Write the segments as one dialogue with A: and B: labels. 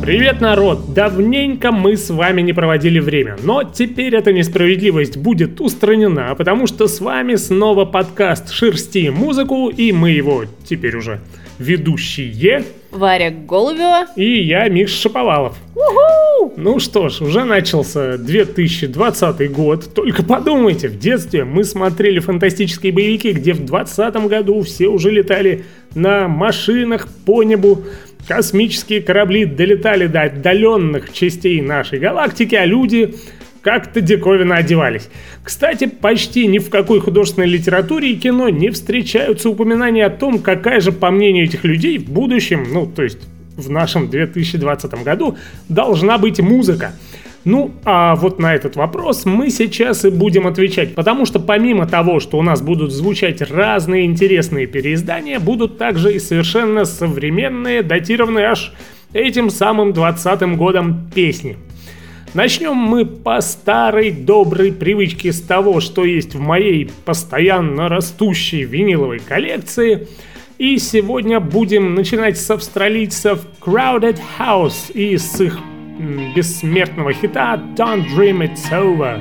A: Привет, народ! Давненько мы с вами не проводили время, но теперь эта несправедливость будет устранена, потому что с вами снова подкаст «Шерсти музыку», и мы его теперь уже ведущие
B: Варя Голубева
A: и я, Миша Шаповалов.
B: У-ху!
A: Ну что ж, уже начался 2020 год. Только подумайте, в детстве мы смотрели фантастические боевики, где в 2020 году все уже летали на машинах по небу. Космические корабли долетали до отдаленных частей нашей галактики, а люди как-то диковинно одевались. Кстати, почти ни в какой художественной литературе и кино не встречаются упоминания о том, какая же, по мнению этих людей, в будущем, то есть в нашем 2020 году, должна быть музыка. Ну, а вот на этот вопрос мы сейчас и будем отвечать, потому что помимо того, что у нас будут звучать разные интересные переиздания, будут также и совершенно современные, датированные аж этим самым 20-м годом песни. Начнем мы по старой доброй привычке с того, что есть в моей постоянно растущей виниловой коллекции. И сегодня будем начинать с австралийцев Crowded House и с их бессмертного хита Don't Dream It's Over.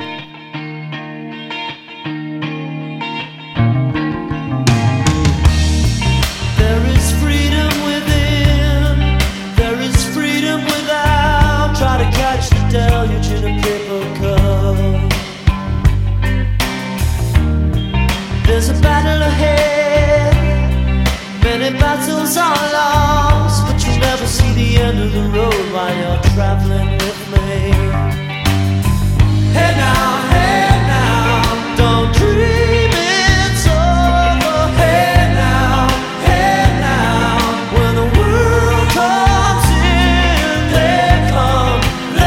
C: Deluge in a paper cup. There's a battle ahead, many battles are lost, but you'll never see the end of the road while you're traveling with me. Hey now, don't dream it's over. Hey now, when the world comes in, they come.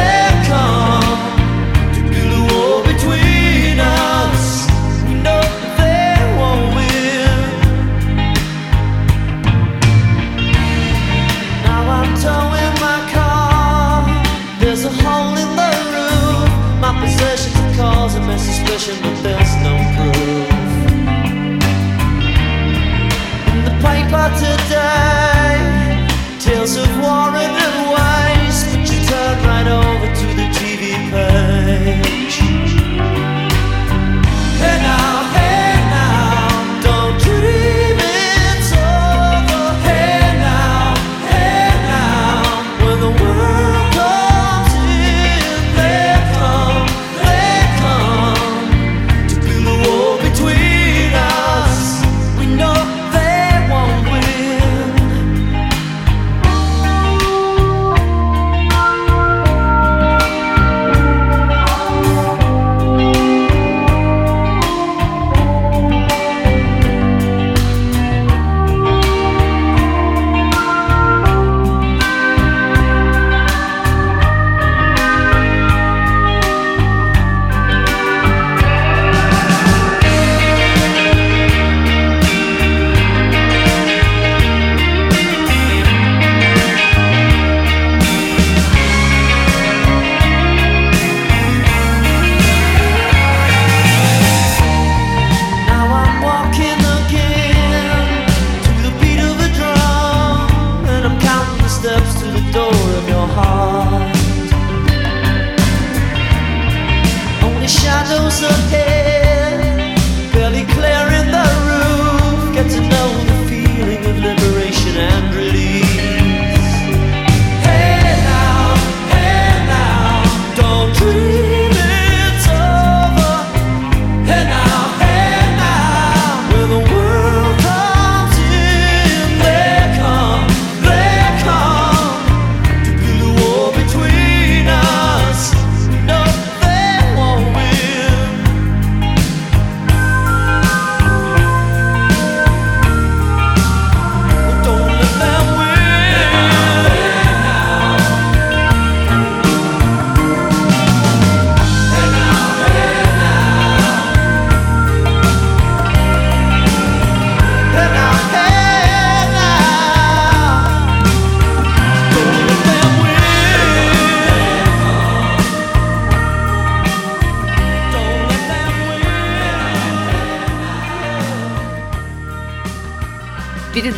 C: But there's no proof in the paper today. Tales of war and waste, but you turn right over to the TV page. Hey now, don't dream it's over. Hey now, when the world comes in, they come. Between us, we know they won't win.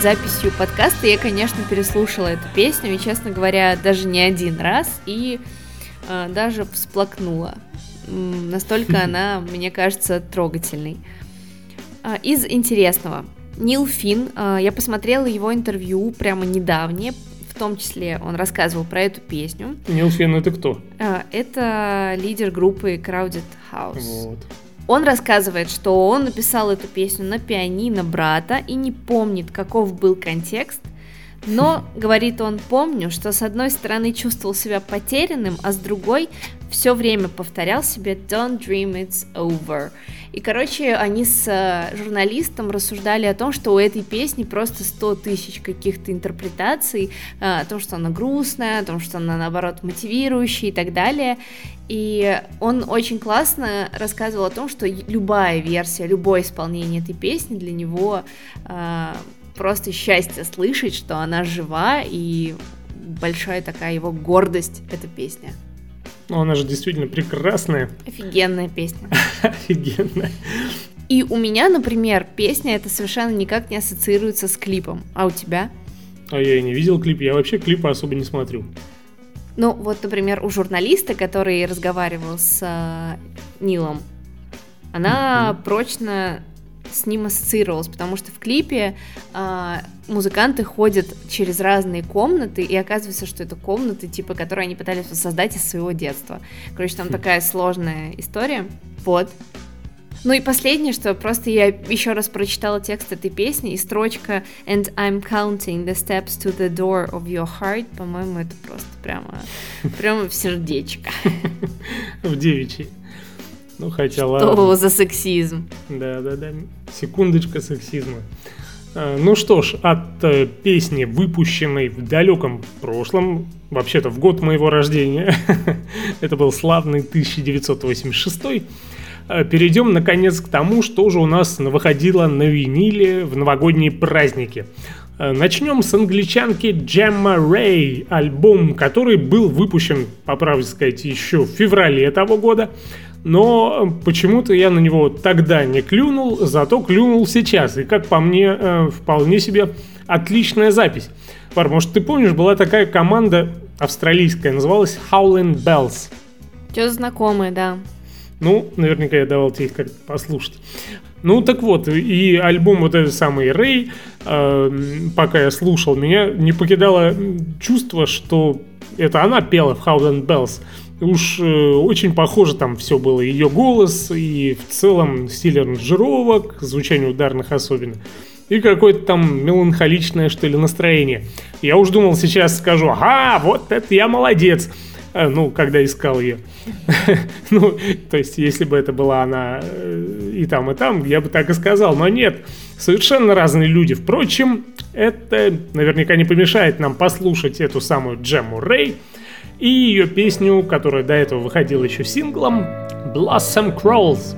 B: перед записью подкаста я, конечно, переслушала эту песню, и, честно говоря, даже не один раз, и даже всплакнула. Настолько она, мне кажется, трогательной. Из интересного. Нил Финн, я посмотрела его интервью прямо недавнее, в том числе он рассказывал про эту песню.
A: Нил Финн — это кто?
B: Это лидер группы Crowded House.
A: Вот.
B: Он рассказывает, что он написал эту песню на пианино брата и не помнит, каков был контекст, но, говорит он, помню, что с одной стороны чувствовал себя потерянным, а с другой все время повторял себе «Don't dream it's over». И, короче, они с журналистом рассуждали о том, что у этой песни просто 100 тысяч каких-то интерпретаций, о том, что она грустная, о том, что она, наоборот, мотивирующая и так далее. И он очень классно рассказывал о том, что любая версия, любое исполнение этой песни для него просто счастье слышать, что она жива, и большая такая его гордость, эта песня.
A: Ну, она же действительно прекрасная.
B: Офигенная песня.
A: Офигенная.
B: И у меня, например, песня эта совершенно никак не ассоциируется с клипом. А у тебя?
A: А я и не видел клип, я вообще клипы особо не смотрю.
B: Ну, вот, например, у журналиста, который разговаривал с Нилом, она прочно с ним ассоциировалась, потому что в клипе музыканты ходят через разные комнаты, и оказывается, что это комнаты, типа, которые они пытались создать из своего детства. Короче, там такая сложная история. Вот. Ну и последнее, что просто я еще раз прочитала текст этой песни, и строчка «And I'm counting the steps to the door of your heart», по-моему, это просто прямо в сердечко.
A: В девичьей. Ну, хотя
B: что
A: ладно.
B: Что за сексизм?
A: Да. Секундочка сексизма. Ну что ж, от песни, выпущенной в далеком прошлом, вообще-то в год моего рождения, это был славный 1986, перейдем, наконец, к тому, что же у нас выходило на виниле в новогодние праздники. Начнем с англичанки Gemma Ray, альбом, который был выпущен, по правде сказать, еще в феврале того года, но почему-то я на него тогда не клюнул, зато клюнул сейчас. И, как по мне, вполне себе отличная запись. Пар, может, ты помнишь, была такая команда австралийская, называлась Howlin' Bells.
B: Что-то знакомое, да.
A: Ну, наверняка я давал тебе их как-то послушать. Ну, так вот, и альбом вот этот самый Рэй, пока я слушал, меня не покидало чувство, что это она пела в Howlin' Bells. Уж очень похоже там все было, ее голос и в целом стиль аранжировок, звучание ударных особенно, и какое-то там меланхоличное, что ли, настроение. Я уж думал, сейчас скажу: ага, вот это я молодец. Ну, когда искал ее. Ну, то есть, если бы это была она и там, я бы так и сказал. Но нет, совершенно разные люди. Впрочем, это наверняка не помешает нам послушать эту самую Gemma Ray и ее песню, которая до этого выходила еще синглом, Blossom Crawls.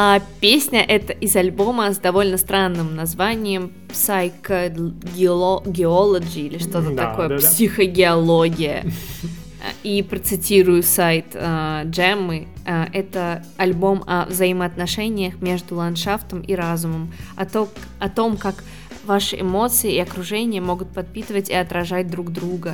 B: А песня это из альбома с довольно странным названием Psychogeology или что-то такое, психогеология. И процитирую сайт Джеммы, это альбом о взаимоотношениях между ландшафтом и разумом, о том, как ваши эмоции и окружение могут подпитывать и отражать друг друга.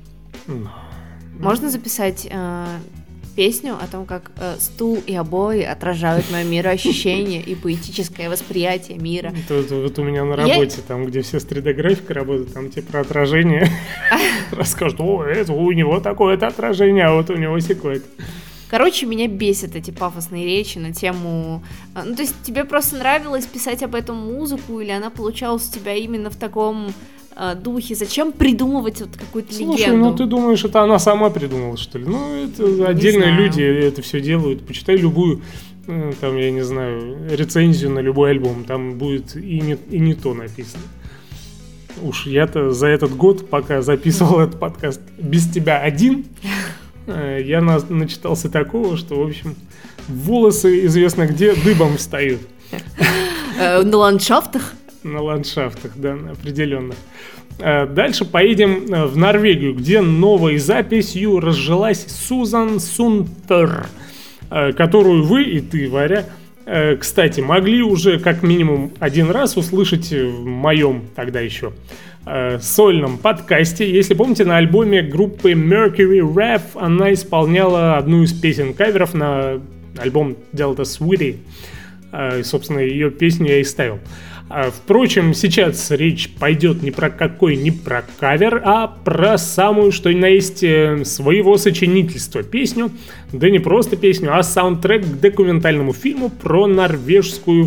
B: Можно записать песню о том, как стул и обои отражают мое мироощущение и поэтическое восприятие мира.
A: Вот у меня на работе, там, где все с 3D-графикой работают, там тебе про отражение расскажут, это у него такое-то отражение, а вот у него сякое-то.
B: Короче, меня бесят эти пафосные речи на тему... Ну, то есть тебе просто нравилось писать об этом музыку, или она получалась у тебя именно в таком духе? Зачем придумывать вот какую-то легенду?
A: Слушай, ну ты думаешь, это она сама придумала, что ли? Ну, это отдельные люди это все делают. Почитай любую, там, я не знаю, рецензию на любой альбом. Там будет и не то написано. Уж я-то за этот год, пока записывал этот подкаст без тебя один, я начитался такого, что, в общем, волосы известно где дыбом встают.
B: На ландшафтах?
A: На ландшафтах, да, определенно. Дальше поедем в Норвегию, где новой записью разжилась Сузан Сунтер, которую вы и ты, Варя, кстати, могли уже как минимум один раз услышать в моем тогда еще сольном подкасте. Если помните, на альбоме группы Mercury Rev она исполняла одну из песен каверов на альбом Delta Sweetie. И, собственно, ее песню я и ставил. Впрочем, сейчас речь пойдет не про кавер, а про самую, что ни на есть, своего сочинительства песню. Да не просто песню, а саундтрек к документальному фильму про норвежскую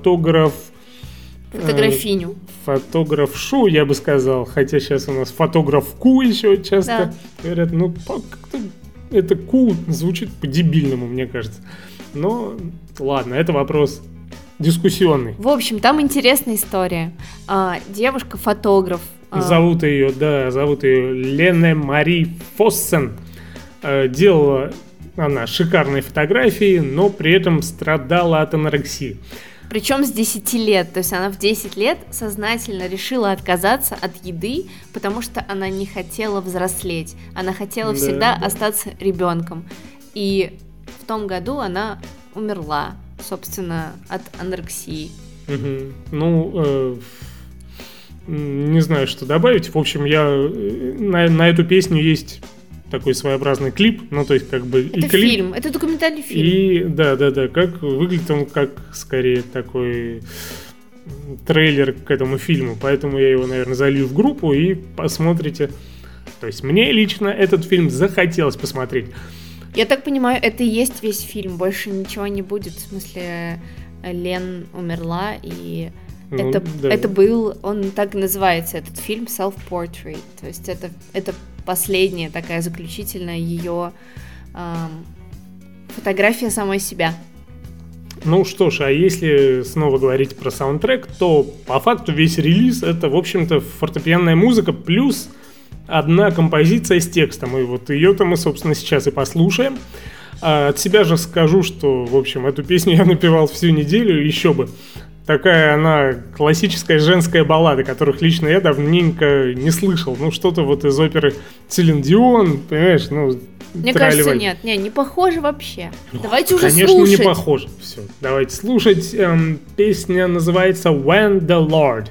B: фотографиню.
A: Фотографшу, я бы сказал. Хотя сейчас у нас фотографку еще часто говорят. Ну, как-то это звучит по-дебильному, мне кажется. Но ладно, это вопрос дискуссионный.
B: В общем, там интересная история. Девушка-фотограф.
A: Зовут ее Лене Мари Фоссен. Делала она шикарные фотографии, но при этом страдала от анорексии.
B: Причем с 10 лет. То есть она в 10 лет сознательно решила отказаться от еды, потому что она не хотела взрослеть. Она хотела всегда остаться ребенком. И в том году она умерла, собственно, от анорексии.
A: Ну, не знаю, что добавить. В общем, на эту песню есть такой своеобразный клип, ну, то есть, как бы...
B: Это клип, фильм, это документальный фильм.
A: И, да, как выглядит он как, скорее, такой трейлер к этому фильму, поэтому я его, наверное, залью в группу и посмотрите. То есть, мне лично этот фильм захотелось посмотреть.
B: Я так понимаю, это и есть весь фильм, больше ничего не будет, в смысле, Лен умерла, и это был, он так и называется, этот фильм, Self-Portrait, то есть это последняя такая заключительная ее фотография самой себя.
A: Ну что ж, а если снова говорить про саундтрек, то по факту весь релиз это, в общем-то, фортепианная музыка плюс одна композиция с текстом, и вот ее-то мы, собственно, сейчас и послушаем. От себя же скажу, что, в общем, эту песню я напевал всю неделю, еще бы. Такая она классическая женская баллада, которых лично я давненько не слышал. Ну, что-то вот из оперы Селин Дион, понимаешь, ну...
B: Мне кажется, нет, не похоже вообще. Давайте уже
A: конечно,
B: слушать.
A: Конечно, не похоже. Все, давайте слушать. Песня называется «When the Lord».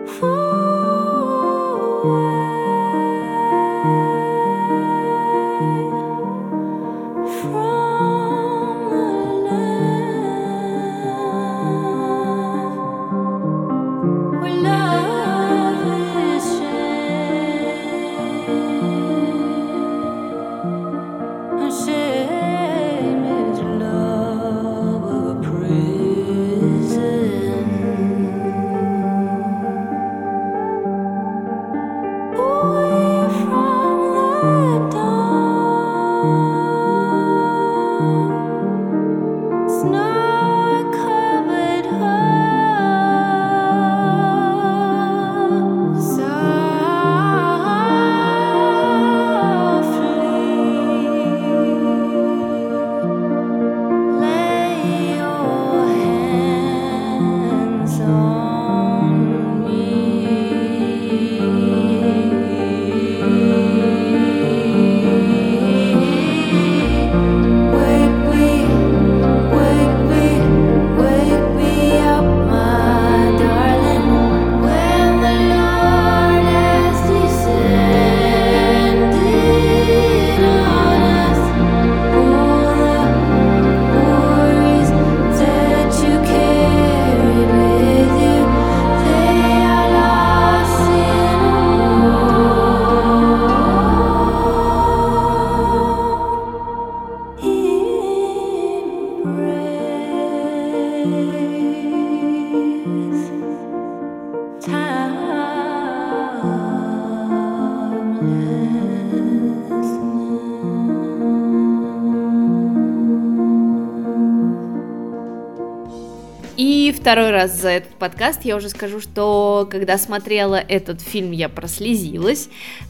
B: И второй раз за этот подкаст я уже скажу, что когда смотрела этот фильм, я прослезилась.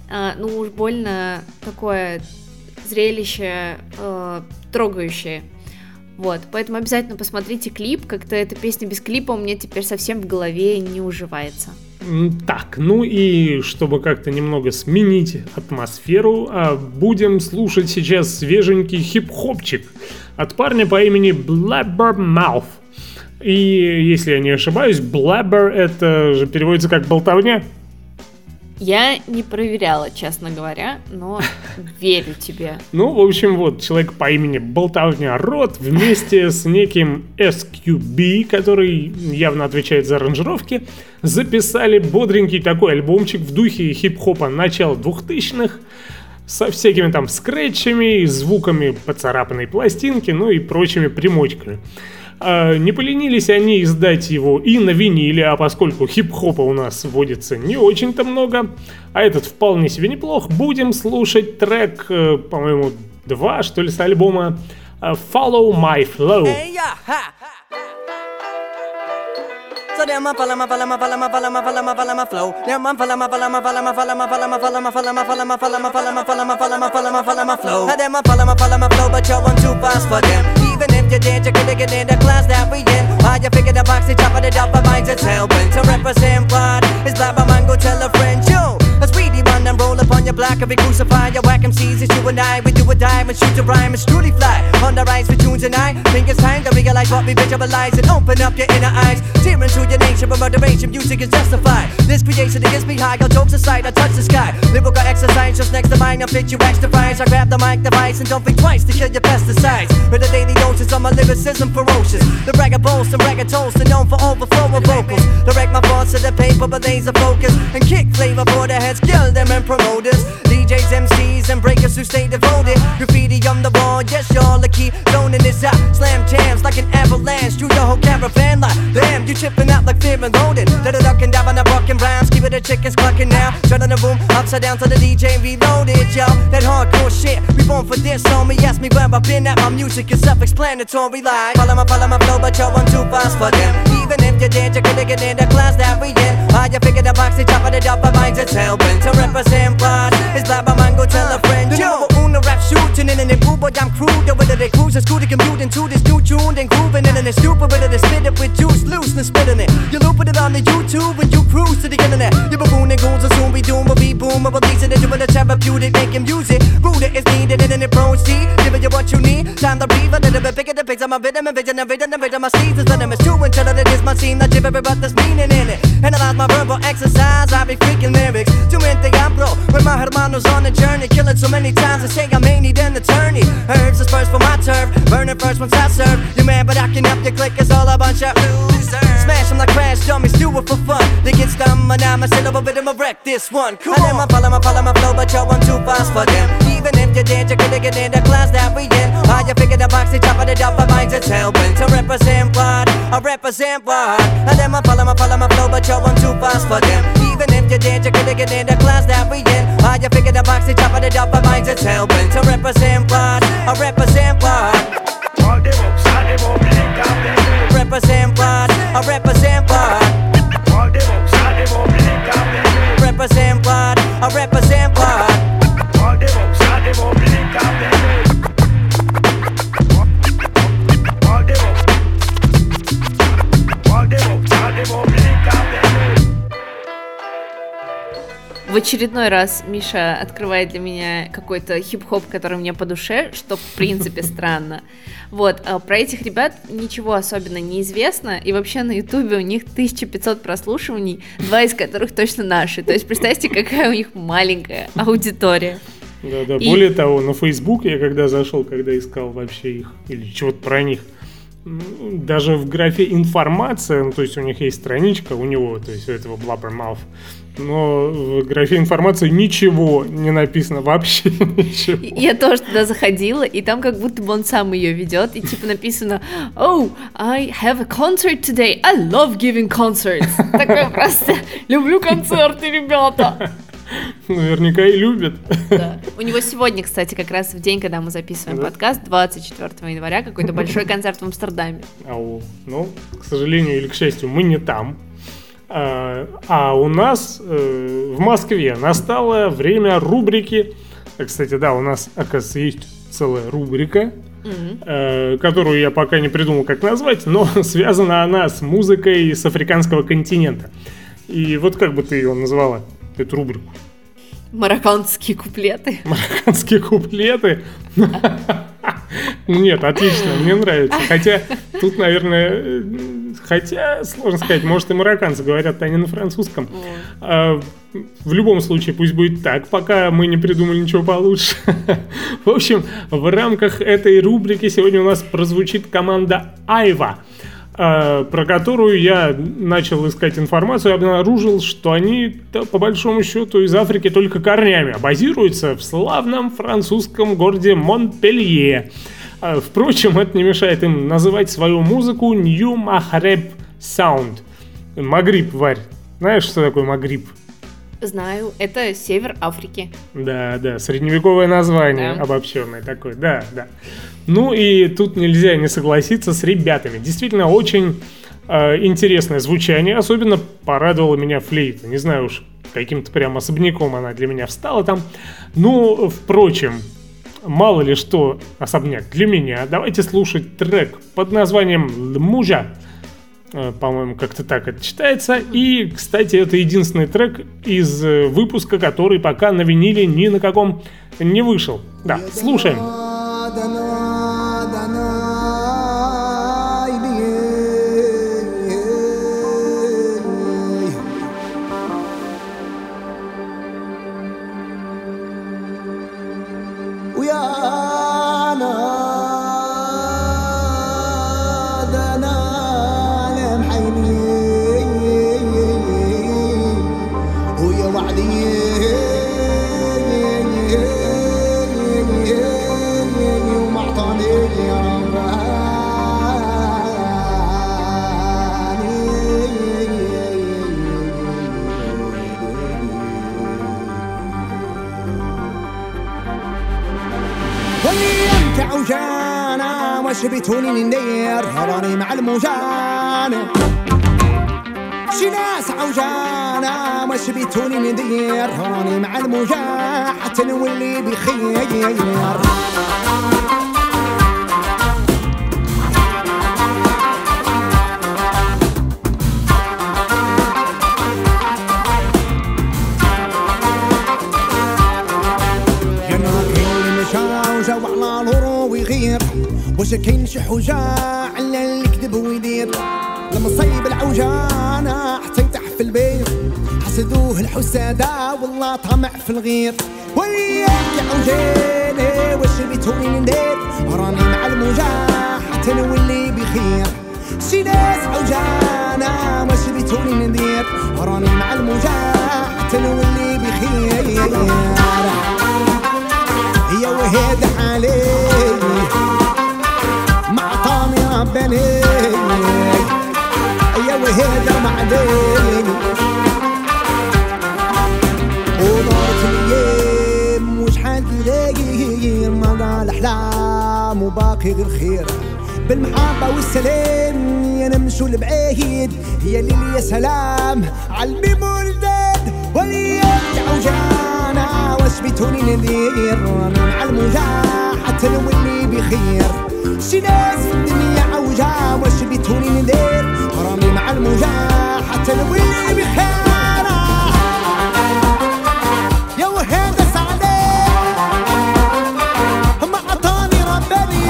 B: Ну уж больно такое зрелище трогающее. Вот, поэтому обязательно посмотрите клип, как-то эта песня без клипа у меня теперь совсем в голове не уживается.
A: Так, ну и чтобы как-то немного сменить атмосферу, будем слушать сейчас свеженький хип-хопчик от парня по имени Blabbermouth. И если я не ошибаюсь, Blabber это же переводится как болтовня.
B: Я не проверяла, честно говоря, но верю тебе.
A: Ну, в общем, вот, человек по имени Болтовня Рот вместе с неким SQB, который явно отвечает за аранжировки, записали бодренький такой альбомчик в духе хип-хопа начала 2000-х, со всякими там скретчами, звуками поцарапанной пластинки, ну и прочими примочками. Не поленились они издать его и на виниле, а поскольку хип-хопа у нас водится не очень-то много, а этот вполне себе неплох, будем слушать трек, по-моему, 2, что ли, с альбома Follow My Flow.
C: So them a follow my flow. Them a follow my flow. Them a follow my flow. Them a follow my flow, but you're too fast for them. Even if you did, you couldn't get in the class that we in. Why you figure the box, they chop it up, but mine's it's helping to represent what is black. My man go tell a friend, yo. A speedy one and roll up on your block. If we crucify your whack MCs, it's you and I. We do a dive and shoot a rhyme. It's truly fly on the rise for tunes and I think it's time to realize what we visualize and open up your inner eyes. Tearing through your nation, but motivation, music is justified. This creation gets me high, all jokes aside, I touch the sky. Lyrical exercise just next to mine, I fit you extra fries. I grab the mic device and don't think twice to kill your pesticides. With a daily doses of my lyricism ferocious. The bragger boast and bragger toast and known for overflow of vocals. Direct my thoughts to the paper, but laser focus. And kick flavor for the heads, kill them and promoters. DJs, MCs, and breakers who stay devoted. Graffiti on the wall, yes, y'all the key. Zoning this out, slam jams like an avalanche. Through your whole caravan like, damn, you chipping out like fear and loaded. Let it duck and dive on the rockin' rhymes. Keep it the chickens clucking now. Turn on the room, upside down to the DJ reloaded, yo. That hardcore shit, we born for this, homie. Ask me where I've been at, my music is self-explanatory. Like, follow my flow, but yo, I'm too fast for them. Even if you did, you couldn't get in the class that we in. How you figure the box, they chop it up, but mine's it's helping to represent pride. It's like my man go tell a friend, yo. Uno rap shooting in an cool, but I'm crude. Whether they cruise is cool to commute into this new tune, then grooving in it's stupid, whether they spit it with juice loose and spitting it. You looping it on the YouTube when you cruise to the internet. You baboon and goons will soon be doomed, but be boom, but releasing it, you will therapeutic, making music. Rooted is needed and then it proceed. Giving you what you need, time to breathe a little bit bigger the pics of my rhythm and vision, the rhythm, my seasons, but I'm as true until it is my scene. Not gibbering, but there's meaning in it. And a lot visualize my verbal exercise. I be freaking lyrics. Tu mente hablo with my hermanos on the journey. Kill it so many times, they say I may need an attorney. Herbs is first for my turf, burn it first once I serve. You mad, but I can help you click, it's all a bunch of losers. Smash them like crash dummies, do it for fun. They get stumbled, I'm a syllable, but I'ma wreck this one. Cool. And then I follow my flow, but yo, I'm too fast for them. Even if you did, you couldn't get in the class that we in. How you figure the box, they chop it up, my minds it's helping to represent what, I represent what. And then I follow my flow, but yo, I'm too fast for them. Even if you did, you couldn't get in the class that we in. How you figure the box, they chop it up, my minds it's helping to represent what, I represent what. Represent what, I represent what. Represent what, I represent what.
B: В очередной раз Миша открывает для меня какой-то хип-хоп, который мне по душе, что в принципе странно. Вот, про этих ребят ничего особенно не известно, и вообще на Ютубе у них 1500 прослушиваний, 2 из которых точно наши. То есть представьте, какая у них маленькая аудитория.
A: Да, более того, на Facebook я когда зашел, когда искал вообще их, или чего-то про них, даже в графе информация, то есть у них есть страничка, у него, то есть у этого Blabbermouth, но в графе информации ничего не написано, вообще ничего.
B: Я тоже туда заходила, и там как будто бы он сам ее ведет, и типа написано: "Oh, I have a concert today, I love giving concerts". Такое просто: люблю концерты, ребята.
A: Наверняка и любят.
B: Да. У него сегодня, кстати, как раз в день, когда мы записываем подкаст, 24 января, какой-то большой концерт в Амстердаме.
A: Ну, к сожалению или к счастью, мы не там. А у нас в Москве настало время рубрики. Кстати, да, у нас, оказывается, есть целая рубрика, которую я пока не придумал, как назвать, но связана она с музыкой с африканского континента. И вот как бы ты ее назвала, эту рубрику?
B: Марокканские куплеты.
A: Марокканские куплеты? Нет, отлично, мне нравится. Хотя тут, наверное, сложно сказать, может и марокканцы говорят, они на французском. В любом случае, пусть будет так, пока мы не придумали ничего получше. В общем, в рамках этой рубрики сегодня у нас прозвучит команда Айва, про которую я начал искать информацию и обнаружил, что они, по большому счету, из Африки только корнями, а базируются в славном французском городе Монпелье. Впрочем, это не мешает им называть свою музыку New Maghreb Sound. Магриб, Варь. Знаешь, что такое Магриб?
B: Знаю, это север Африки.
A: Да, средневековое название, обобщенное такое, да. Ну и тут нельзя не согласиться с ребятами. Действительно, очень интересное звучание. Особенно порадовала меня флейта. Не знаю уж, каким-то прям особняком она для меня встала там. Ну, впрочем, мало ли что особняк для меня. Давайте слушать трек под названием «Лмужа». По-моему, как-то так это читается. И, кстати, это единственный трек из выпуска, который пока на виниле ни на каком не вышел. Да, слушаем.
D: وش بيتوني ندير راني مع الموجانة شي ناس عوجانة وش بيتوني ندير راني مع الموجة حتى نولي بخير وش كاين شي حوجة على اللي كذب ويدير لما صيب العوجانة حتى يتح في البيت الشح والسادة والله طمع في الغير وياك يا عوجاني واش بيتوني ندير راني مع الموجة حتى نولي بخير شي ناس عوجانا واش بيتوني ندير راني مع الموجة حتى نولي بخير يا وهاد حالي مع طامي رباني يا وهاد معدني ودارت الايام وشحال تلاقي ما قال احلام وباقي غير خير بالمحبة والسلام يا نمشوا لبعيد يا ليل يا سلام عالميمور الداد ولياك يا عوجانا واش بيتوني ندير راني مع الموجة حتى نولي بخير شي ناس في الدنيا عوجة واش بيتوني ندير راني مع الموجة حتى نولي بخير يا وهذا سعدي ما عطاني رباني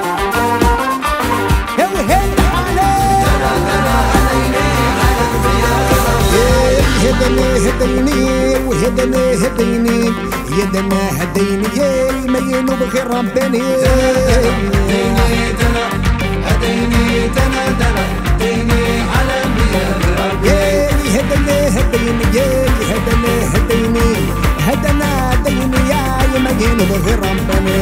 D: يا وهذا حالي هديني وهدني هديني يدنا هديني ما ينوب غير رباني هديني على هدنا هديني يا ما ينوب غير رباني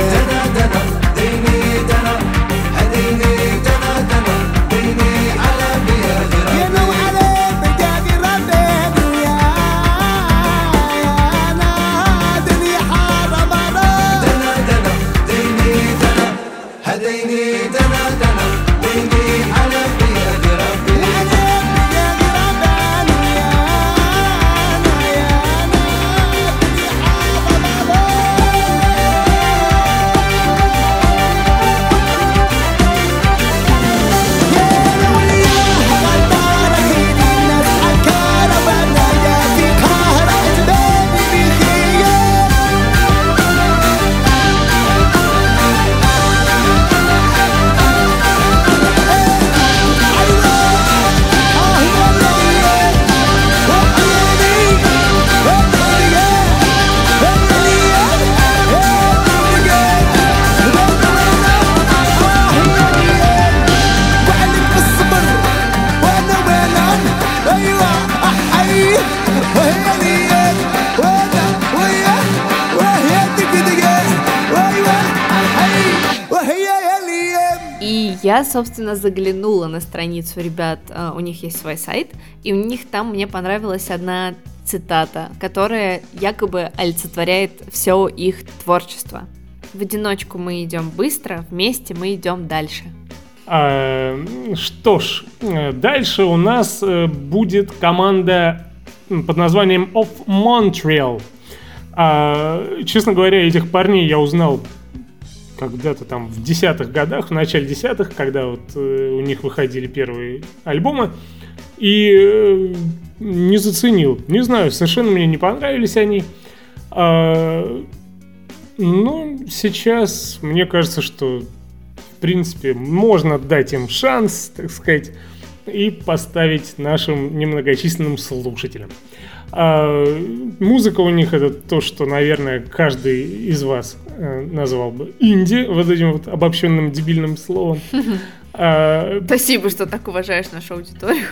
B: Я, собственно, заглянула на страницу ребят, у них есть свой сайт, и у них там мне понравилась одна цитата, которая якобы олицетворяет все их творчество. В одиночку мы идем быстро, вместе мы идем дальше.
A: Что ж, дальше у нас будет команда под названием Of Montreal. Честно говоря, этих парней я узнал когда-то там в 10-х годах, в начале 10-х, когда вот у них выходили первые альбомы, и не заценил. Не знаю, совершенно мне не понравились они. Ну, сейчас мне кажется, что в принципе можно дать им шанс, так сказать, и поставить нашим немногочисленным слушателям. Музыка у них это то, что, наверное, каждый из вас назвал бы инди, вот этим вот обобщенным дебильным словом.
B: Спасибо, что так уважаешь нашу аудиторию.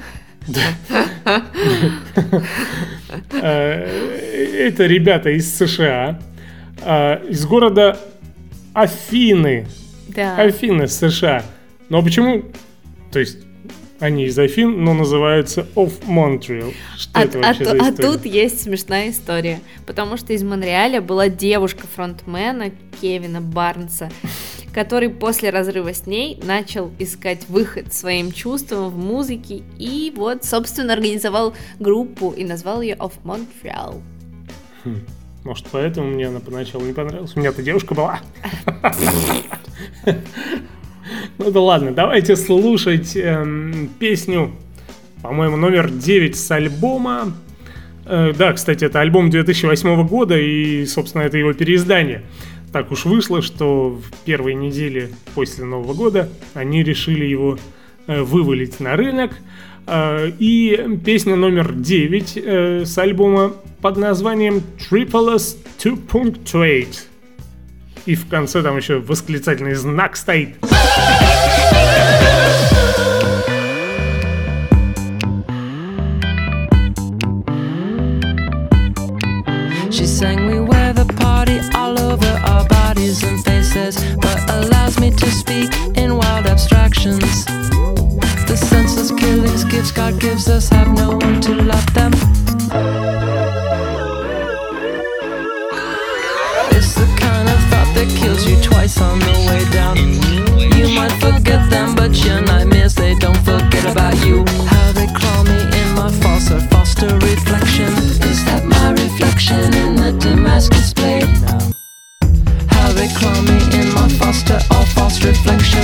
A: Это ребята из США, из города Афины. Афины, США. Но почему? То есть они из Афин, но называются Of Montreal. Что это вообще за история?
B: А тут есть смешная история. Потому что из Монреаля была девушка фронтмена Кевина Барнса, который после разрыва с ней начал искать выход своим чувствам в музыке и вот, собственно, организовал группу и назвал ее Of Montreal.
A: Может, поэтому мне она поначалу не понравилась. У меня-то девушка была. Ну да ладно, давайте слушать песню, по-моему, номер 9 с альбома. Да, кстати, это альбом 2008 года, и, собственно, это его переиздание. Так уж вышло, что в первой неделе после Нового года они решили его вывалить на рынок. И песня номер 9 с альбома под названием Tripolis 2.8. И в конце там еще восклицательный знак стоит.
E: She sang, we wear the party all over our bodies and faces, but allows me to speak in wild abstractions. The senseless killings gifts God gives us have no one to love them. It's the kind of thought that kills you twice on the way down. You might forget them, but your nightmares, they don't forget about you. How they claw me in my false or foster reflection. Is that my reflection in the Damascus blade? How they claw me in my foster or false reflection.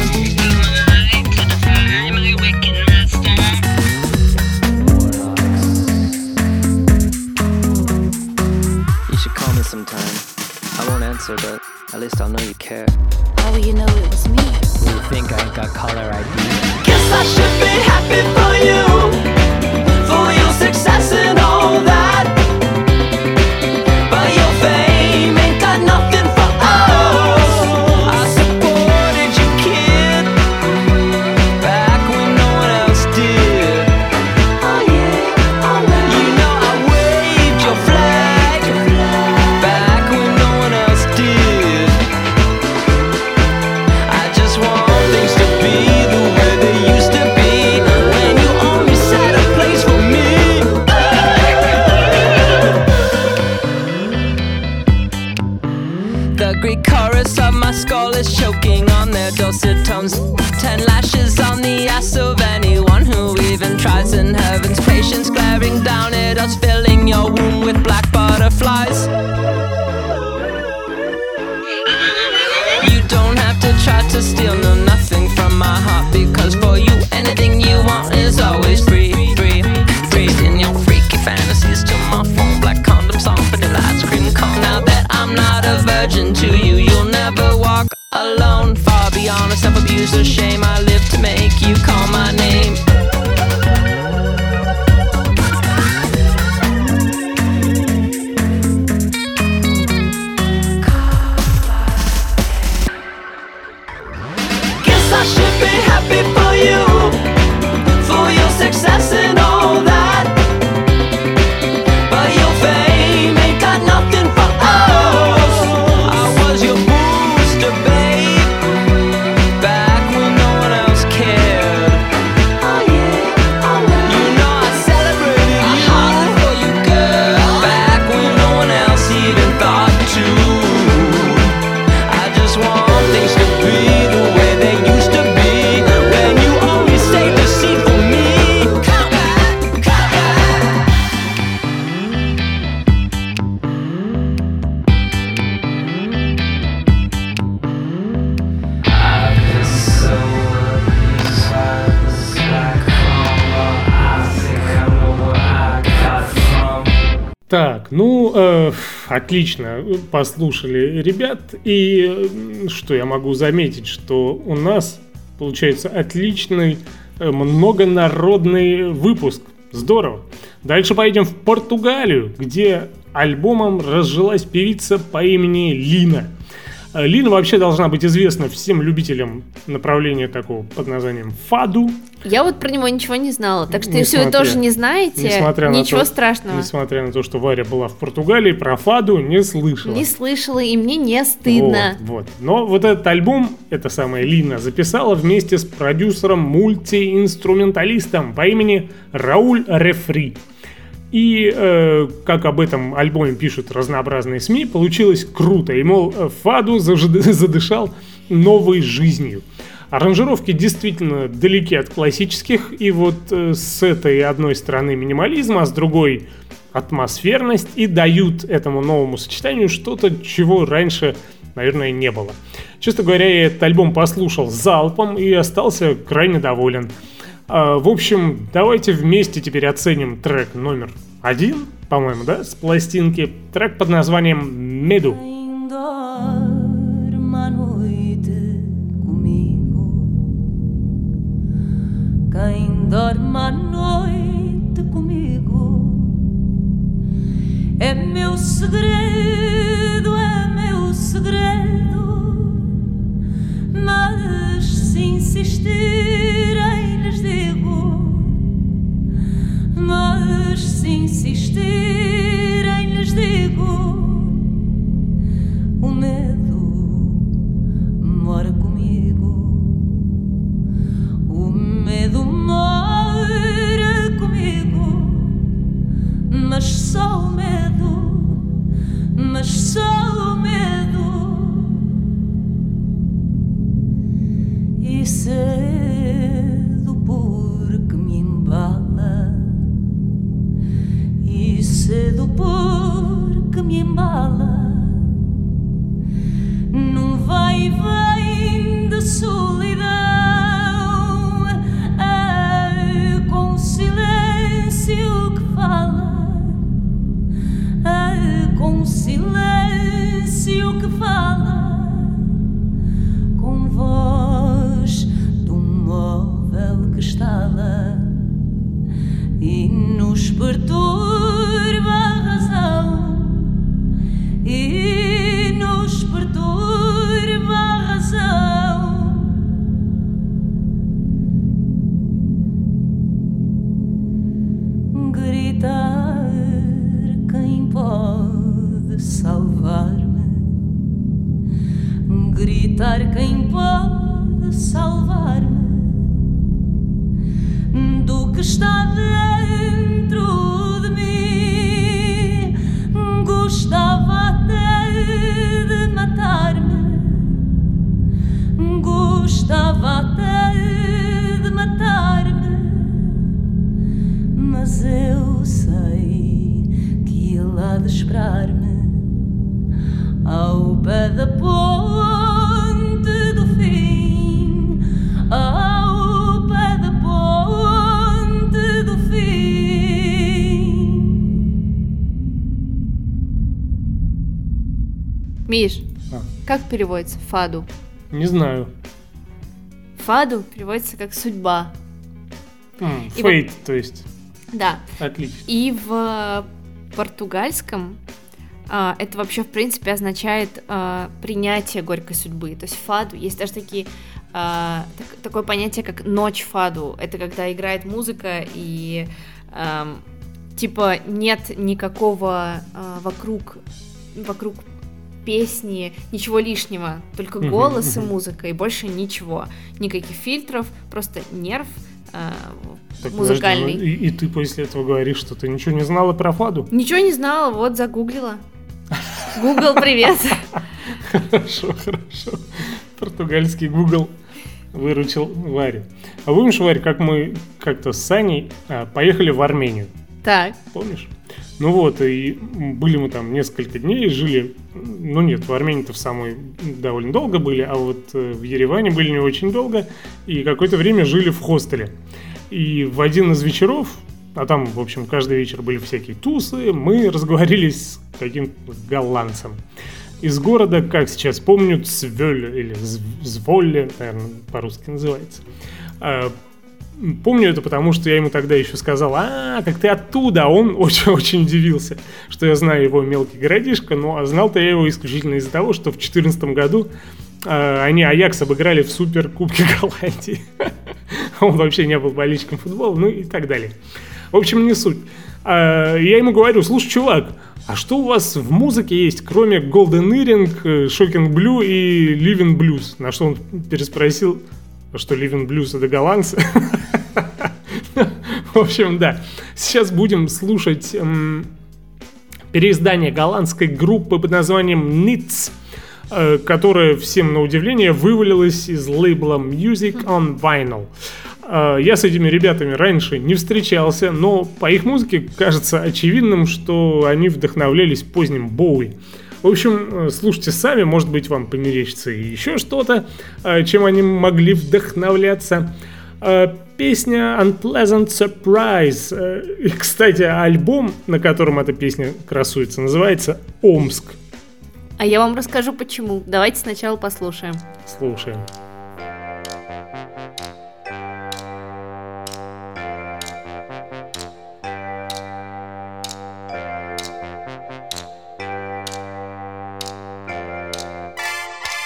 E: You should call me sometime. I won't answer, but at least I'll know you care.
B: How will you know it was me?
E: You think I ain't got caller ID?
F: Guess I should be happy for you, for your success and all that. But your fame ain't got nothing for us. I supported you, kid, back when no one else did. Oh yeah, oh yeah. You know I waved your flag back when no one else did. I just want things to be the way they used to be when you only set a place for me.
E: The Greek chorus of my skull is choking on their dulcet tones. 10 lashes on the ass of anyone who even tries, in heaven's patience glaring down at us, filling your womb with black butterflies. You don't have to try to steal no nothing from my heart, because for you anything you want is always free, free, free. In your freaky fantasies to my phone, black condoms on vanilla ice cream cone. Now that I'm not a virgin to you, you'll never walk alone. Far beyond a self-abuse or shame, I live to make you call my name.
F: Guess I should be happy for you, for your success and all that. But your fame ain't got nothing for us. I was your booster, babe, back when no one else cared. Oh yeah, oh yeah. You know I celebrated you for you, girl, back when no one else even thought to. I just want things to be the way they used to be when you only stayed to see for me. Come back, come back. I've been so obsessed back home. I think I know where I got from.
A: Так, ну, отлично, послушали ребят, и что я могу заметить, что у нас получается отличный многонародный выпуск, здорово. Дальше поедем в Португалию, где альбомом разжилась певица по имени Лина. Лина вообще должна быть известна всем любителям направления такого под названием фаду.
B: Я вот про него ничего не знала, так что если
A: Несмотря-
B: вы тоже не знаете, ничего
A: на то,
B: страшного.
A: Несмотря на то, что Варя была в Португалии, про фаду не слышала.
B: Не слышала, и мне не стыдно.
A: Вот. Но вот этот альбом, эта самая Лина, записала вместе с продюсером-мультиинструменталистом по имени Рауль Рефри. И, как об этом альбоме пишут разнообразные СМИ, получилось круто. И, мол, фаду задышал новой жизнью. Аранжировки действительно далеки от классических. И вот с этой одной стороны минимализм, а с другой атмосферность. И дают этому новому сочетанию что-то, чего раньше, наверное, не было. Честно говоря, я этот альбом послушал залпом и остался крайне доволен. В общем, давайте вместе теперь оценим трек номер 1, по-моему, да, с пластинки. Трек под названием «Medo».
F: Dorma à noite comigo. Quem dorme à noite É meu segredo, mas se insistirem lhes digo, mas se insistirem lhes digo, o medo mora comigo, o medo mora comigo, mas só o medo, mas só o medo. E cedo porque me embala, e cedo porque me embala, num vai e vem de solidão, com silêncio que fala, com silêncio que fala, com voz de um móvel que estala e nos perturba a razão, e nos perturba a razão. Gritar quem pode salvar-me, gritar quem pode salvar-me do que está dentro de mim. Gostava até de matar-me, gostava até de matar-me, mas eu sei que ele há de esperar-me ao pé da ponte do fim, ao pé da ponte do fim.
B: Миш, как переводится фаду?
A: Не знаю.
B: Фаду переводится как судьба. И
A: Фейт, то есть.
B: Да.
A: Отлично.
B: И в португальском это вообще, в принципе, означает принятие горькой судьбы. То есть фаду, есть даже такое понятие, как ночь фаду. Это когда играет музыка и типа нет никакого вокруг песни, ничего лишнего, только голос и музыка, и больше ничего. Никаких фильтров, просто нерв
A: Так,
B: музыкальный.
A: Подожди, и ты после этого говоришь, что ты ничего не знала про фаду?
B: Ничего не знала, вот загуглила. Google, привет.
A: Хорошо. Португальский Google выручил Варю. А помнишь, Варя, как мы как-то с Саней поехали в Армению?
B: Так.
A: Помнишь? Ну вот, и были мы там несколько дней, жили, ну нет, в Армении-то в самой довольно долго были, а вот в Ереване были не очень долго, и какое-то время жили в хостеле. И в один из вечеров, а там, в общем, каждый вечер были всякие тусы, мы разговорились с каким-то голландцем из города, как сейчас помню, Цвёль или Зволле, наверное, по-русски называется. Помню это, потому что я ему тогда еще сказал: так ты оттуда. А он очень-очень удивился, что я знаю его мелкий городишко, но знал-то я его исключительно из-за того, что в 2014 году они Аякс обыграли в Суперкубке Голландии. Он вообще не был болельщиком футбола, ну и так далее. В общем, не суть. Я ему говорю: слушай, чувак, а что у вас в музыке есть, кроме Golden Earring, Shocking Blue и Living Blues? На что он переспросил, что Living Blues — это голландцы. В общем, да. Сейчас будем слушать переиздание голландской группы под названием Nits, которая, всем на удивление, вывалилась из лейбла Music on Vinyl. Я с этими ребятами раньше не встречался, но по их музыке кажется очевидным, что они вдохновлялись поздним Боуи. В общем, слушайте сами, может быть, вам померещится еще что-то, чем они могли вдохновляться. Песня Unpleasant Surprise. И, кстати, альбом, на котором эта песня красуется, называется «Омск».
B: А я вам расскажу почему. Давайте сначала послушаем.
A: Слушаем.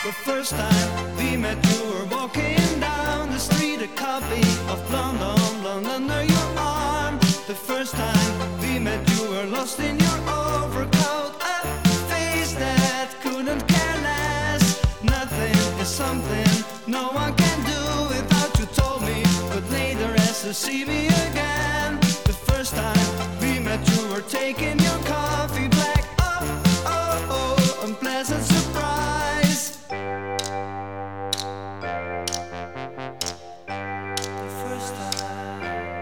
F: The first time we met, you were walking down the street, a copy of Blonde on Blonde under your arm. The first time we met, you were lost in your overcoat, a face that couldn't care less. Nothing is something no one can do without you told me, but later as to see me again. The first time we met, you were taking your coffee black. Oh, oh, oh, unpleasant surprise. The first time.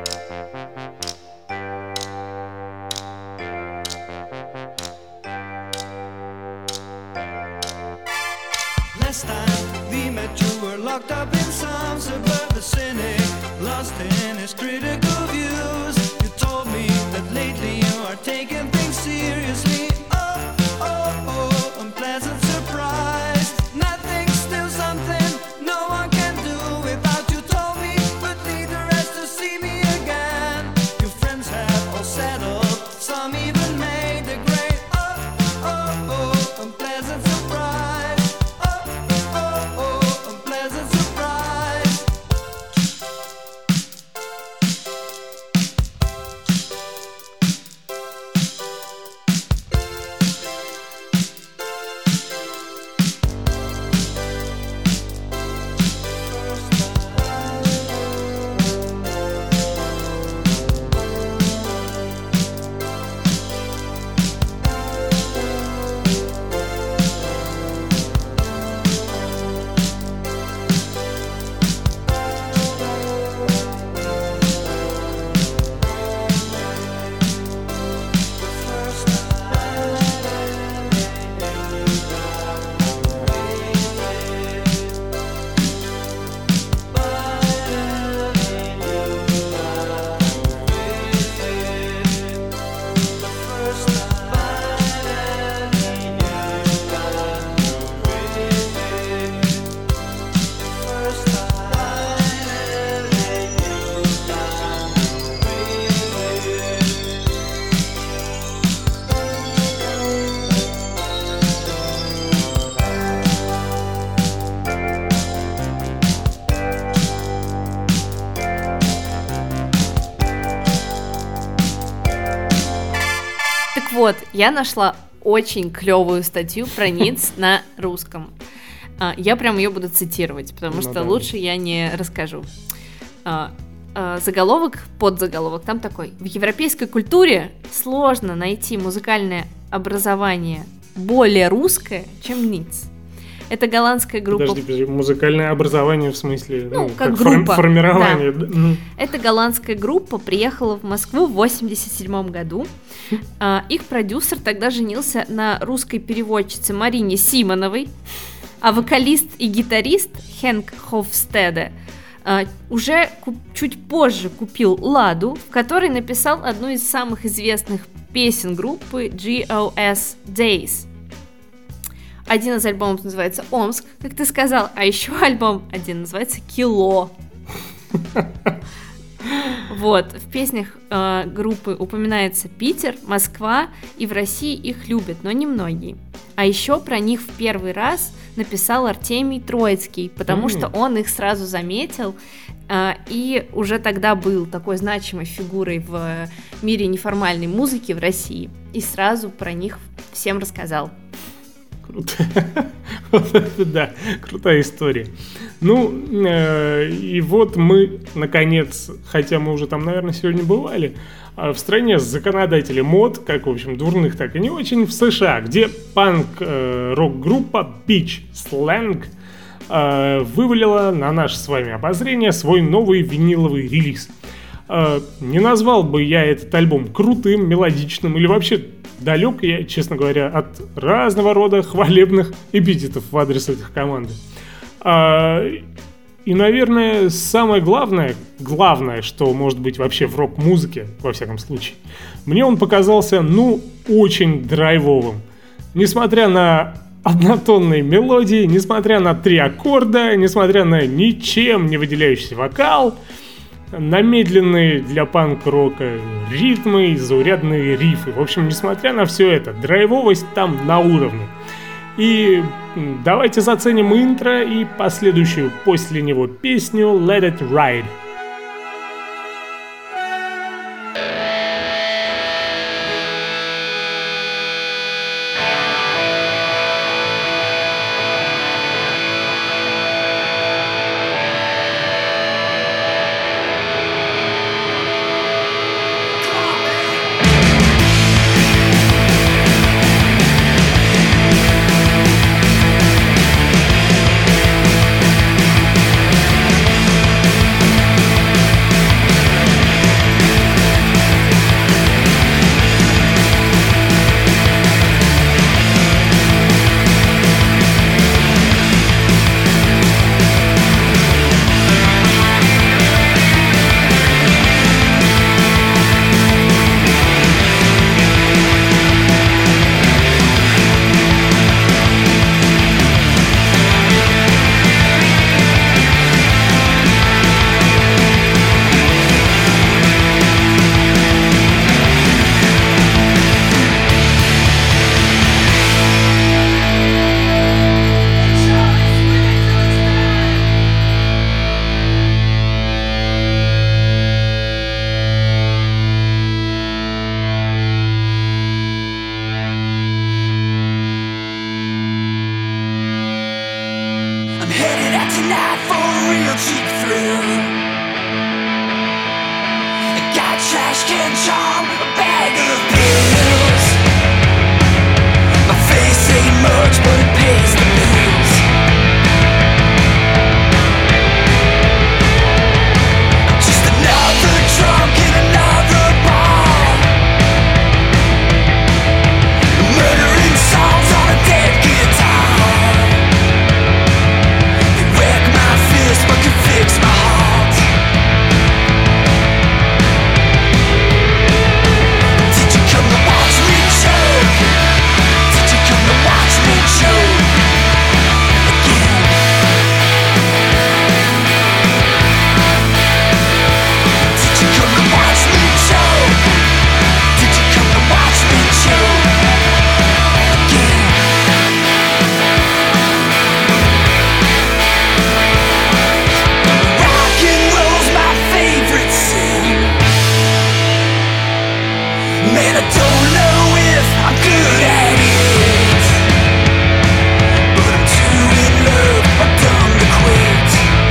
F: Last time we met, you were locked up in some suburban cynic, lost in his critical views. You told me that lately you are taking things seriously. Oh, oh, oh, unpleasant surprise. Nothing's still something no one can do without you told me, but neither has to see me again. Your friends have all settled, some even made the grade. Oh, oh, oh, unpleasant surprise. Oh, oh, oh, unpleasant surprise.
B: Так вот, я нашла очень клевую статью про ниц на русском. Я прям ее буду цитировать, потому что лучше я не расскажу. Заголовок, подзаголовок там такой: в европейской культуре сложно найти музыкальное образование более русское, чем ниц. Это голландская группа.
A: Подожди, музыкальное образование в смысле,
B: как группа.
A: Формирование.
B: Да.
A: Да.
B: Эта голландская группа приехала в Москву в 1987 году. Их продюсер тогда женился на русской переводчице Марине Симоновой, а вокалист и гитарист Хенк Хофстеде уже чуть позже купил «Ладу», в которой написал одну из самых известных песен группы GOS Days. Один из альбомов называется «Омск», как ты сказал, а еще альбом один называется «Кило». Вот, в песнях группы упоминается Питер, Москва, и в России их любят, но немногие. А еще про них в первый раз написал Артемий Троицкий, потому что он их сразу заметил, и уже тогда был такой значимой фигурой в мире неформальной музыки в России, и сразу про них всем рассказал.
A: Круто. Да, крутая история. И вот мы, наконец, хотя мы уже там, наверное, сегодня бывали, в стране законодателей мод, как, в общем, дурных, так и не очень, в США, где панк-рок-группа Beach Slang вывалила на наше с вами обозрение свой новый виниловый релиз. Не назвал бы я этот альбом крутым, мелодичным или вообще далек я, честно говоря, от разного рода хвалебных эпитетов в адрес этих команд. И, наверное, самое главное, что может быть вообще в рок-музыке, во всяком случае, мне он показался, очень драйвовым. Несмотря на однотонные мелодии, несмотря на 3 аккорда, несмотря на ничем не выделяющийся вокал, на медленные для панк-рока ритмы и заурядные рифы. В общем, несмотря на все это, драйвовость там на уровне. И давайте заценим интро и последующую после него песню Let It Ride.
F: I'm headed out tonight for a real cheap thrill. I got trash can charm, a bag of pills. My face ain't much, but it pays the bills. Just another drunk in another bar, murdering songs on a dead guitar. But can fix my heart. Did you come to watch me choke? Did you come to watch me choke again? Did you come to watch me choke? Did you come to watch me choke again? Man, I don't know if I'm good at it, but I'm too in love, I'm dumb to quit.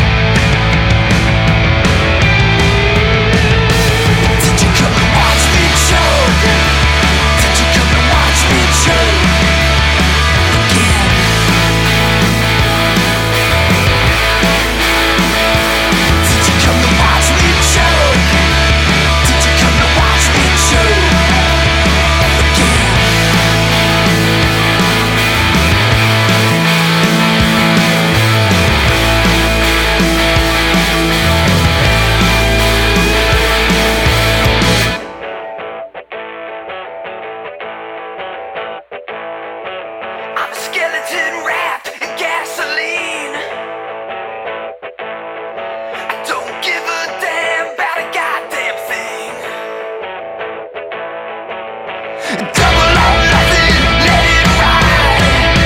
F: Did you come to watch me choke? Did you come to watch me choke again? Did you come to watch me choke? Did you come to watch me choke? I'm a skeleton wrapped in gasoline. I don't give a damn about a goddamn thing. Double or nothing, let it ride.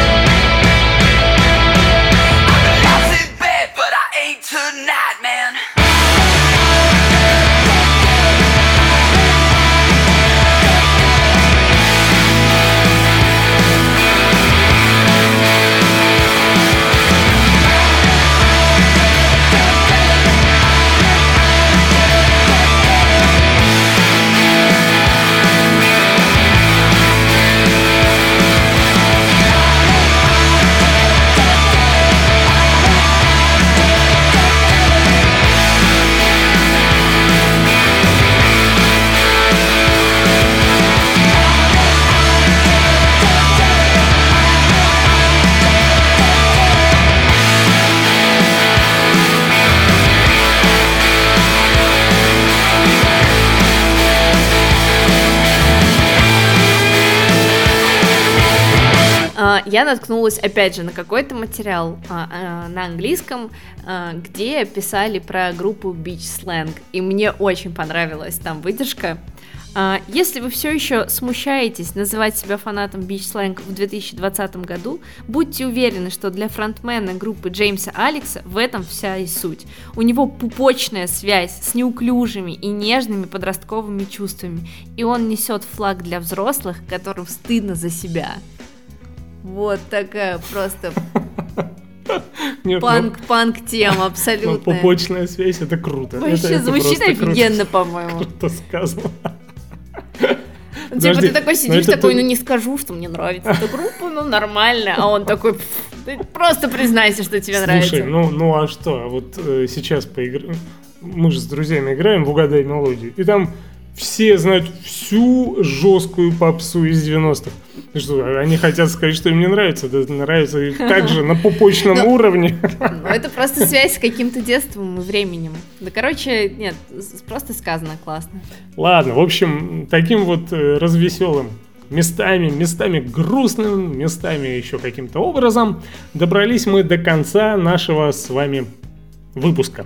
F: I'm a lousy bed, but I ain't tonight, man.
B: Я наткнулась, опять же, на какой-то материал на английском, где писали про группу Beach Slang, и мне очень понравилась там выдержка. Если вы все еще смущаетесь называть себя фанатом Beach Slang в 2020 году, будьте уверены, что для фронтмена группы Джеймса Алекса в этом вся и суть. У него пупочная связь с неуклюжими и нежными подростковыми чувствами, и он несет флаг для взрослых, которым стыдно за себя. Вот такая просто панк тема абсолютно.
A: Пупочная связь, это круто.
B: Вообще
A: это
B: звучит офигенно, по-моему.
A: Круто сказано.
B: Типа ты такой сидишь, такой, не скажу, что мне нравится эта группа, нормально, а он такой, ты просто признайся, что тебе нравится.
A: Слушай, ну а что, вот сейчас поиграем, мы же с друзьями играем в «Угадай мелодию», и там все знают всю жесткую попсу из 90-х. Что, они хотят сказать, что им не нравится, да нравится и так же на пупочном уровне.
B: Это просто связь с каким-то детством и временем. Да, короче, нет, просто сказано классно.
A: Ладно, в общем, таким вот развеселым местами грустным, местами еще каким-то образом добрались мы до конца нашего с вами выпуска.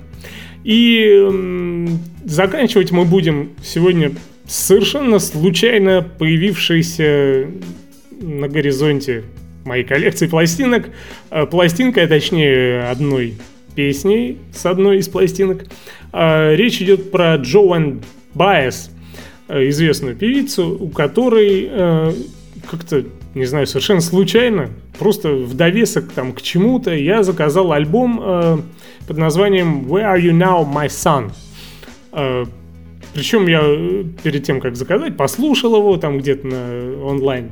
A: И заканчивать мы будем сегодня совершенно случайно появившейся на горизонте моей коллекции пластинок. Пластинка, точнее, одной песней с одной из пластинок. Речь идет про Joan Baez, известную певицу, у которой как-то, не знаю, совершенно случайно, просто в довесок там к чему-то я заказал альбом под названием Where Are You Now, My Son? Причем я перед тем, как заказать, послушал его там где-то на онлайн,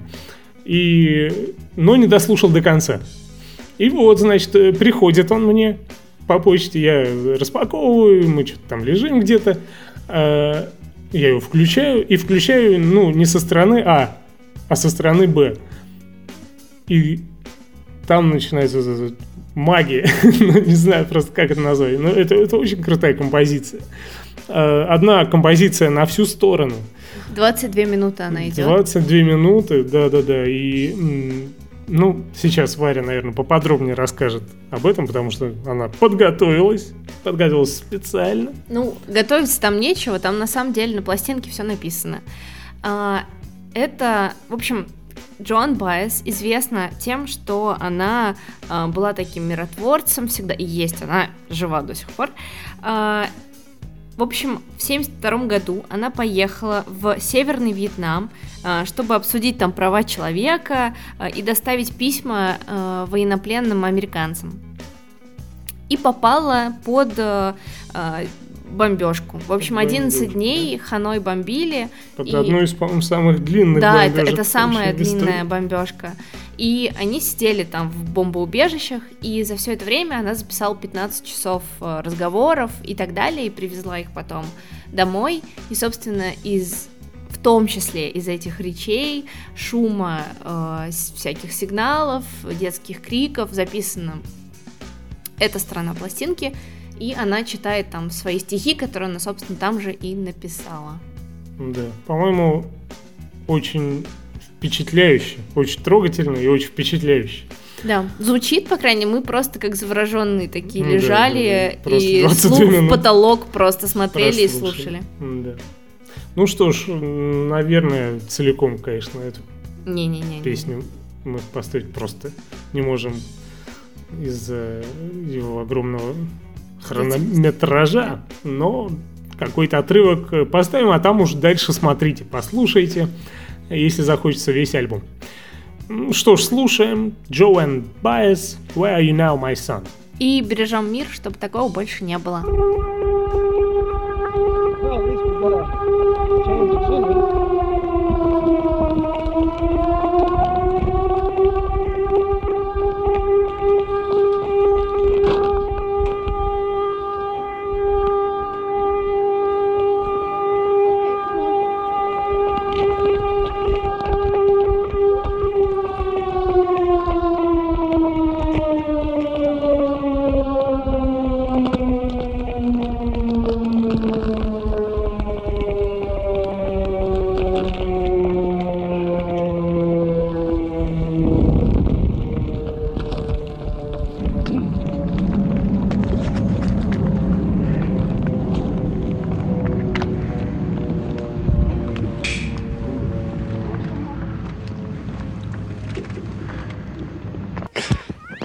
A: но не дослушал до конца. И вот, значит, приходит он мне по почте, я распаковываю, мы что-то там лежим где-то, я его включаю, не со стороны А, а со стороны Б. И там начинается магия, не знаю просто, как это назвать, но это очень крутая композиция. Одна композиция на всю сторону.
B: 22 минуты она идет.
A: 22 минуты, да. И, сейчас Варя, наверное, поподробнее расскажет об этом, потому что она подготовилась специально.
B: Готовиться там нечего, там на самом деле на пластинке все написано. Это, в общем, Joan Baez известна тем, что она была таким миротворцем всегда, и есть, она жива до сих пор. В общем, в 1972 году она поехала в Северный Вьетнам, чтобы обсудить там права человека и доставить письма военнопленным американцам. И попала под бомбежку. В общем, 11 дней Ханой бомбили.
A: Под одну из, по-моему, самых длинных
B: бомбежек. Да, это самая длинная бомбежка. И они сидели там в бомбоубежищах, и за все это время она записала 15 часов разговоров и так далее, и привезла их потом домой. И, собственно, в том числе из этих речей, шума, всяких сигналов, детских криков записана эта сторона пластинки, и она читает там свои стихи, которые она, собственно, там же и написала.
A: Да, по-моему, очень впечатляюще, очень трогательно и очень впечатляюще.
B: Да, звучит, по крайней мере, мы просто как завороженные такие лежали,
A: да.
B: И слух в потолок просто смотрели и слушали.
A: Да. Ну что ж, наверное, целиком, конечно, эту песню мы поставить просто не можем из-за его огромного хронометража, но какой-то отрывок поставим, а там уж дальше смотрите, послушайте, если захочется весь альбом. Что ж, слушаем Joan Baez, Where Are You Now, My Son?
B: И бережем мир, чтобы такого больше не было.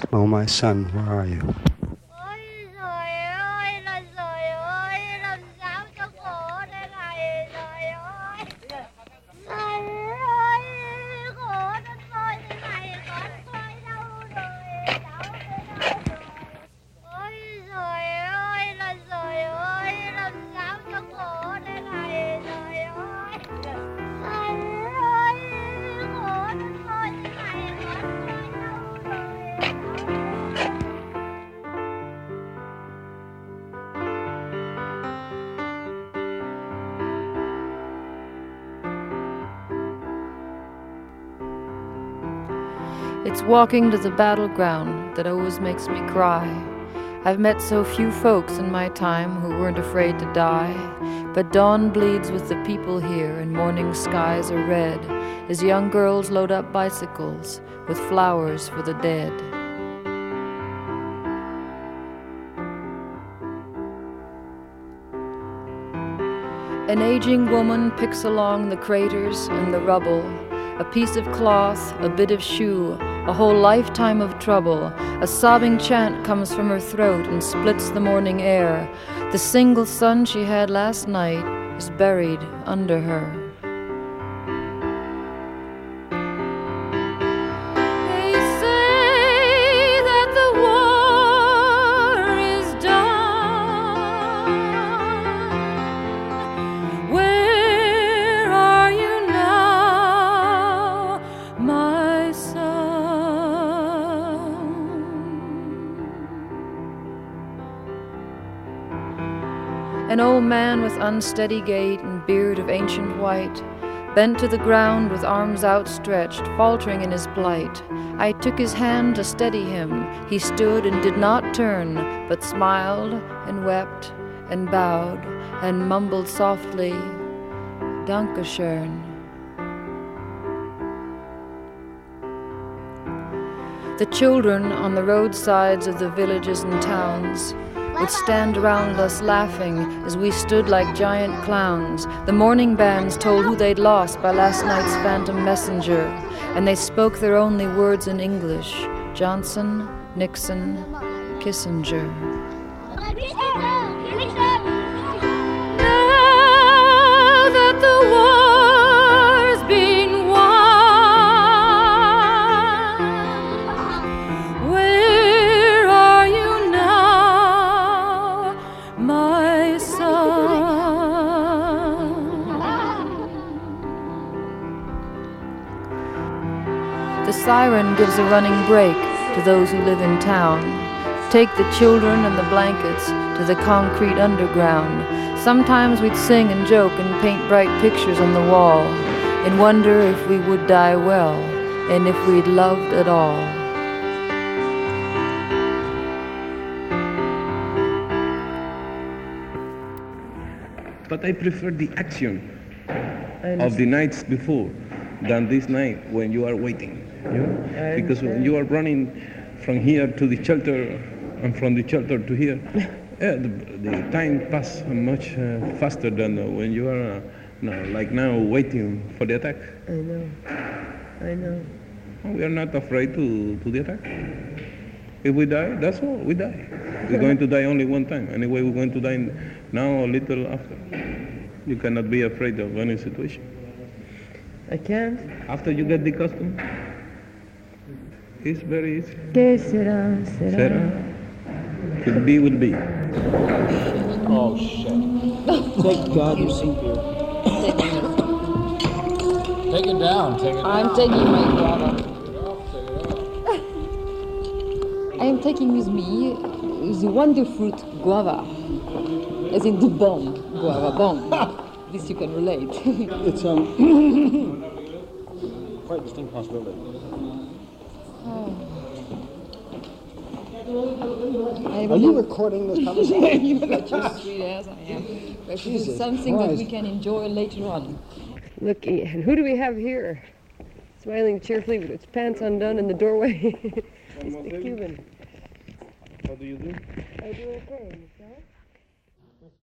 G: Oh, my son, where are you?
H: Ôi trời ơi là trời ơi, làm sao cho khổ thế này trời ơi. Trời ơi, khổ đến tôi thế này, con tôi đâu rồi, đâu thế đâu rồi. Ôi trời ơi là trời ơi, làm sao cho khổ thế này trời ơi. Trời ơi, khổ đến tôi thế này, con tôi đâu rồi, đâu thế đâu rồi.
I: It's walking to the battleground that always makes me cry. I've met so few folks in my time who weren't afraid to die. But dawn bleeds with the people here and morning skies are red as young girls load up bicycles with flowers for the dead. An aging woman picks along the craters and the rubble. A piece of cloth, a bit of shoe, a whole lifetime of trouble. A sobbing chant comes from her throat and splits the morning air. The single son she had last night is buried under her. They say that the war is done. Where are you now, my son? An old man with unsteady gait and beard of ancient white, bent to the ground with arms outstretched, faltering in his plight. I took his hand to steady him. He stood and did not turn, but smiled and wept and bowed and mumbled softly, Dankeschön. The children on the roadsides of the villages and towns would stand around us laughing as we stood like giant clowns. The morning bands told who they'd lost by last night's phantom messenger, and they spoke their only words in English: Johnson, Nixon, Kissinger. Now that the war's been won, where are you now, my son? The siren gives a running break to those who live in town. Take the children and the blankets to the concrete underground. Sometimes we'd sing and joke and paint bright pictures on the wall and wonder if we would die well and if we'd loved at all.
J: But I prefer the action of the nights before than this night when you are waiting. You know? Because when you are running from here to the shelter and from the shelter to here, the time passes much faster than when you are like now waiting for the attack.
K: I know.
J: We are not afraid to the attack. If we die, that's all, we die. We're going to die only one time. Anyway, we're going to die now a little after. You cannot be afraid of any situation.
K: I can't.
J: After you get the custom, it's very easy.
K: ¿Qué será?
J: Will be, will be.
L: Oh, shit. Thank God you see here. Take it down, take it down.
I: I'm taking my guava. I am taking with me the wonder fruit guava, as in the bomb guava bomb. This you can relate.
L: It's quite a distinct possibility. Are you recording this conversation?
I: You got your sweet ass, I am. But this is something that we can enjoy later on.
K: Look, and who do we have here? Smiling cheerfully with its pants undone in the doorway. It's the Cuban.
J: What do you do?
K: I do okay. Yourself?